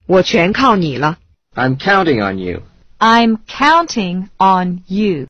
我全靠你了。 I'm counting on you. I'm counting on you.